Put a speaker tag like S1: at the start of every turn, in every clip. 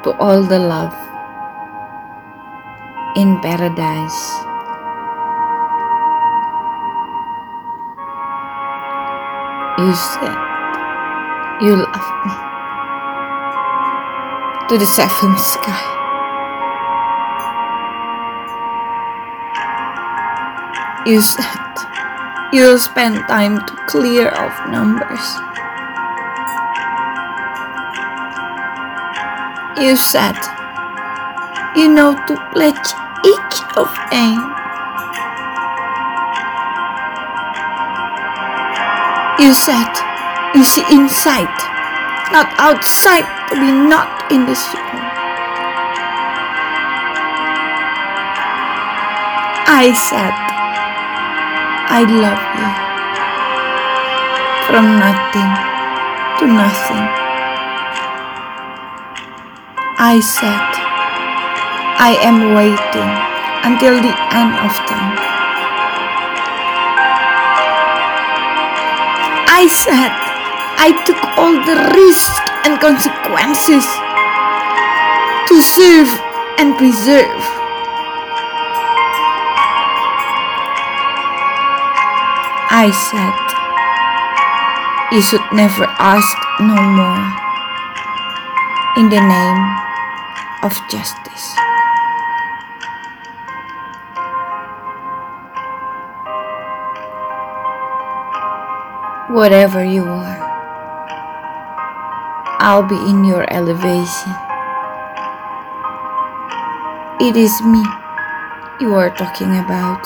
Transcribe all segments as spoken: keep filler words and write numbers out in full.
S1: to all the love in paradise. You said you love me to the seventh sky. You said you'll spend time to clear off numbers. You said you know to pledge each of aim. You said you see inside, not outside, to be not in this room. I said I love you from nothing to nothing. I said I am waiting until the end of time. I said I took all the risks and consequences to serve and preserve. I said you should never ask no more in the name of justice. Whatever you are, I'll be in your elevation. It is me you are talking about.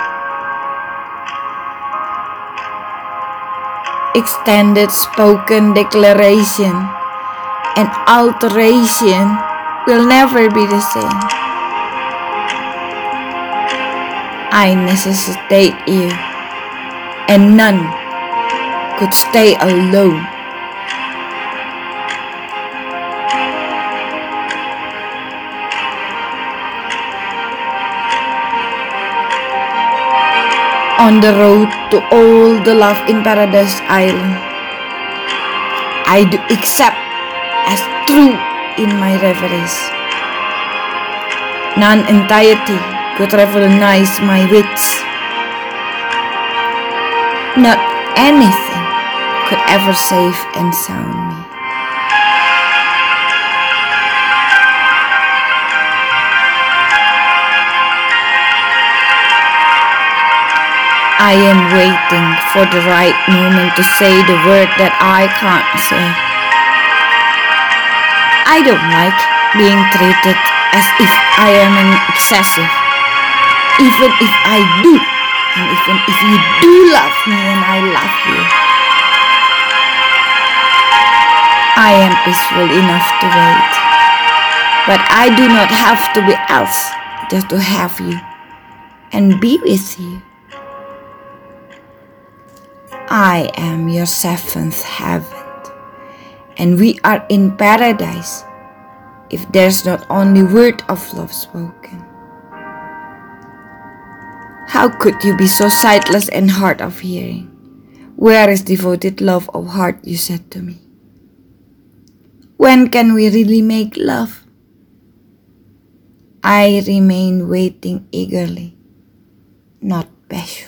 S1: Extended spoken declaration and alteration will never be the same. I necessitate you, and none could stay alone. On the road to all the love in Paradise Island, I do accept as true in my reveries. Non-entirety could revolutionize my wits. Not anything could ever save and sound me. I am waiting for the right moment to say the word that I can't say. I don't like being treated as if I am an excessive. Even if I do, and even if you do love me and I love you, I am peaceful enough to wait. But I do not have to be else just to have you and be with you. I am your seventh heaven, and we are in paradise if there's not only word of love spoken. How could you be so sightless and hard of hearing? Where is devoted love of heart, you said to me? When can we really make love? I remain waiting eagerly, not bashful.